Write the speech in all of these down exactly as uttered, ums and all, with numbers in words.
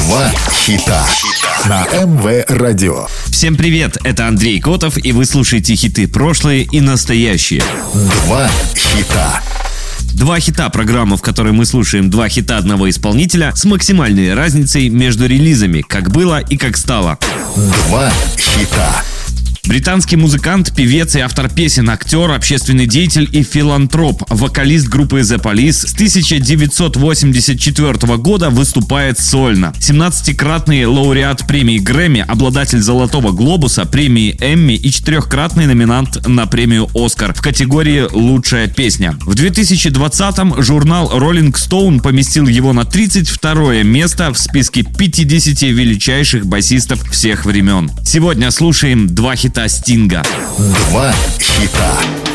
Два хита на эм вэ Радио. Всем привет, это Андрей Котов, и вы слушаете хиты прошлые и настоящие. Два хита. Два хита — программа, в которой мы слушаем два хита одного исполнителя с максимальной разницей между релизами, как было и как стало. Два хита. Британский музыкант, певец и автор песен, актер, общественный деятель и филантроп, вокалист группы The Police с тысяча девятьсот восемьдесят четвёртого года выступает сольно. семнадцатикратный лауреат премии Грэмми, обладатель Золотого Глобуса, премии Эмми и четырехкратный номинант на премию Оскар в категории «Лучшая песня». В две тысячи двадцатом журнал Rolling Stone поместил его на тридцать второе место в списке пятидесяти величайших басистов всех времен. Сегодня слушаем два хита Стинга. Два хита.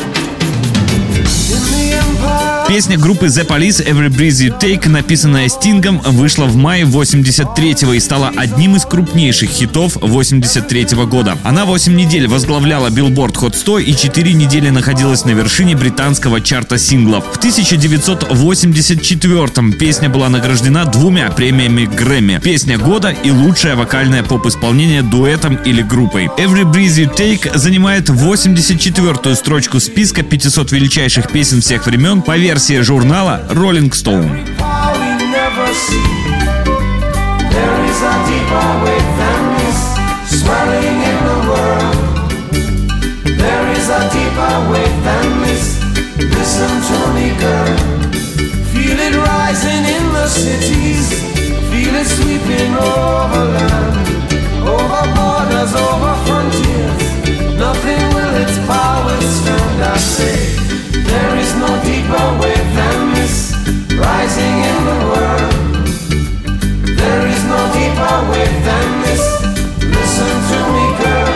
Песня группы The Police «Every Breath You Take», написанная Стингом, вышла в мае восемьдесят третьего и стала одним из крупнейших хитов восемьдесят третьего года. Она восемь недель возглавляла Billboard Hot сто и четыре недели находилась на вершине британского чарта синглов. В тысяча девятьсот восемьдесят четвёртом песня была награждена двумя премиями Грэмми: «Песня года» и «Лучшее вокальное поп-исполнение дуэтом или группой». «Every Breath You Take» занимает восемьдесят четвёртую строчку списка пятисот величайших песен всех времен по версии журнала Rolling Stone. There is no deeper wave than this, rising in the world. There is no deeper wave than this, listen to me, girl.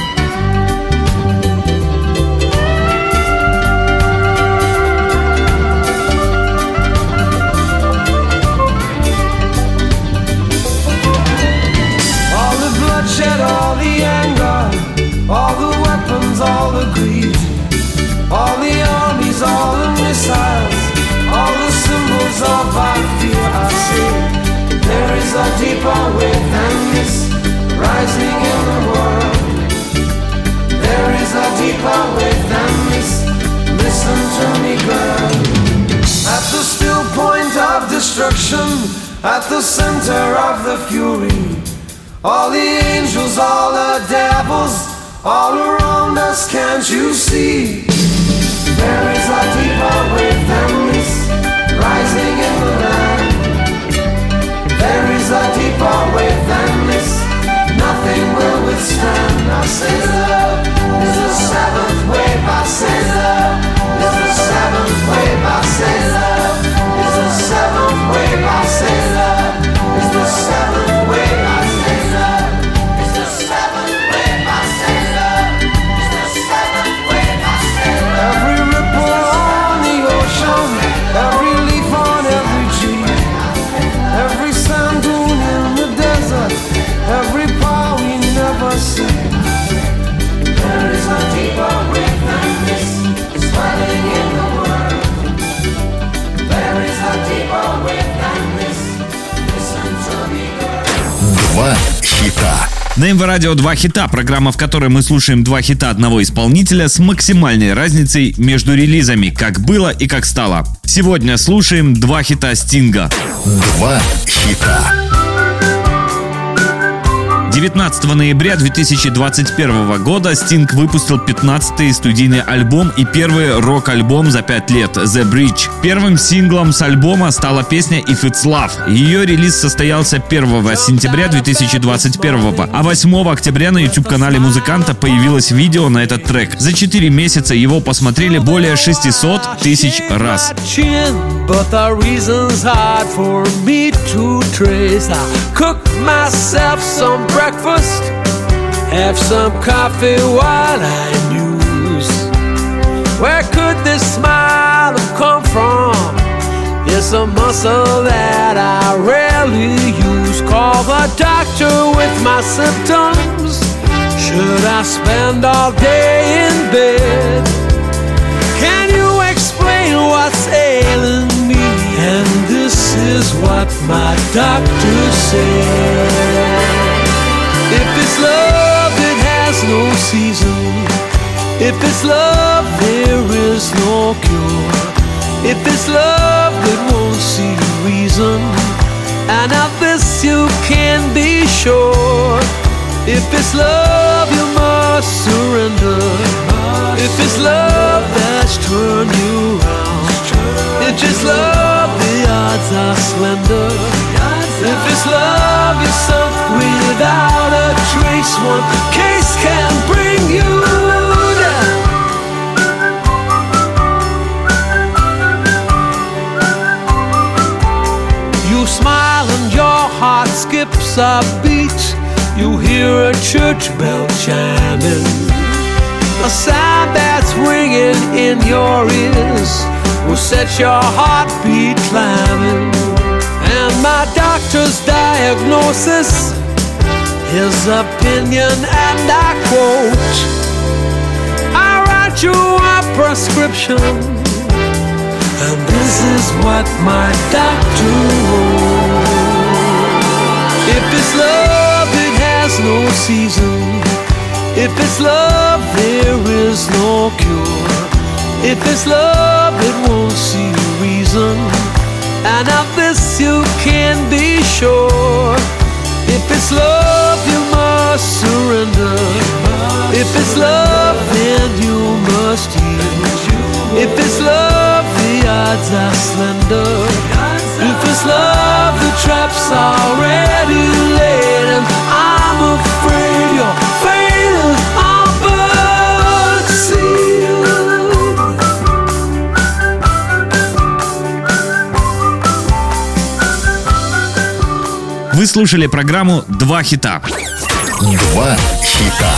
All the bloodshed, all the anger, all the weapons, all the greed, all the armies, all the missiles, all the symbols of our fear. I say, there is a deeper wave than this, rising in the world. There is a deeper wave than this, listen to me, girl. At the still point of destruction, at the center of the fury, all the angels, all the devils, all around us, can't you see? There is a deeper wave than this, rising in the land. There is a deeper wave than this, nothing will withstand. I say love is the seventh wave. I say love is the seventh wave. I say love is the seventh wave. I say love is the seventh wave. I say love is the seventh wave. I say love is the seventh wave. I say love. Every ripple on the ocean, every leaf on every tree, every sand dune in the desert, every power we never see. There is a deeper wave than this, swelling in the world. There is a deeper wave than this, listen to me, girl. Два хита. На эм вэ Радио «Два хита» — программа, в которой мы слушаем два хита одного исполнителя с максимальной разницей между релизами, как было и как стало. Сегодня слушаем два хита Стинга. Два хита. девятнадцатого ноября две тысячи двадцать первого года Стинг выпустил пятнадцатый студийный альбом и первый рок-альбом за пять лет «The Bridge». Первым синглом с альбома стала песня «If It's Love». Ее релиз состоялся первого сентября две тысячи двадцать первого, а восьмого октября на YouTube-канале музыканта появилось видео на этот трек. За четыре месяца его посмотрели более шестисот тысяч раз. But the reason's hard for me to trace. I cook myself some breakfast, have some coffee while I muse. Where could this smile have come from? It's a muscle that I rarely use. Call the doctor with my symptoms. Should I spend all day in bed? Can you explain what's ailing me? And this is what my doctor said. If it's love, it has no season. If it's love, there is no cure. If it's love, it won't see reason. And of this you can be sure. If it's love, you must surrender. If it's love that's turned you round, if it's love, the odds are slender. If it's love, you're sunk without a trace. One case can bring you down. You smile and your heart skips a beat. You hear a church bell chiming, a sound that's ringing in your ears will set your heartbeat climbing. And my doctor's diagnosis, his opinion, and I quote, I write you a prescription, and this is what my doctor wrote. If it's love, it has no season. If it's love, there is no cure. If it's love, it won't see reason. And of this you can be sure. If it's love, you must surrender. If it's love, then you must yield. If it's love, the odds are slender. If it's love, the trap's already laid. And I'm afraid your fate is all but sealed. Вы слушали программу «Два хита». Два хита.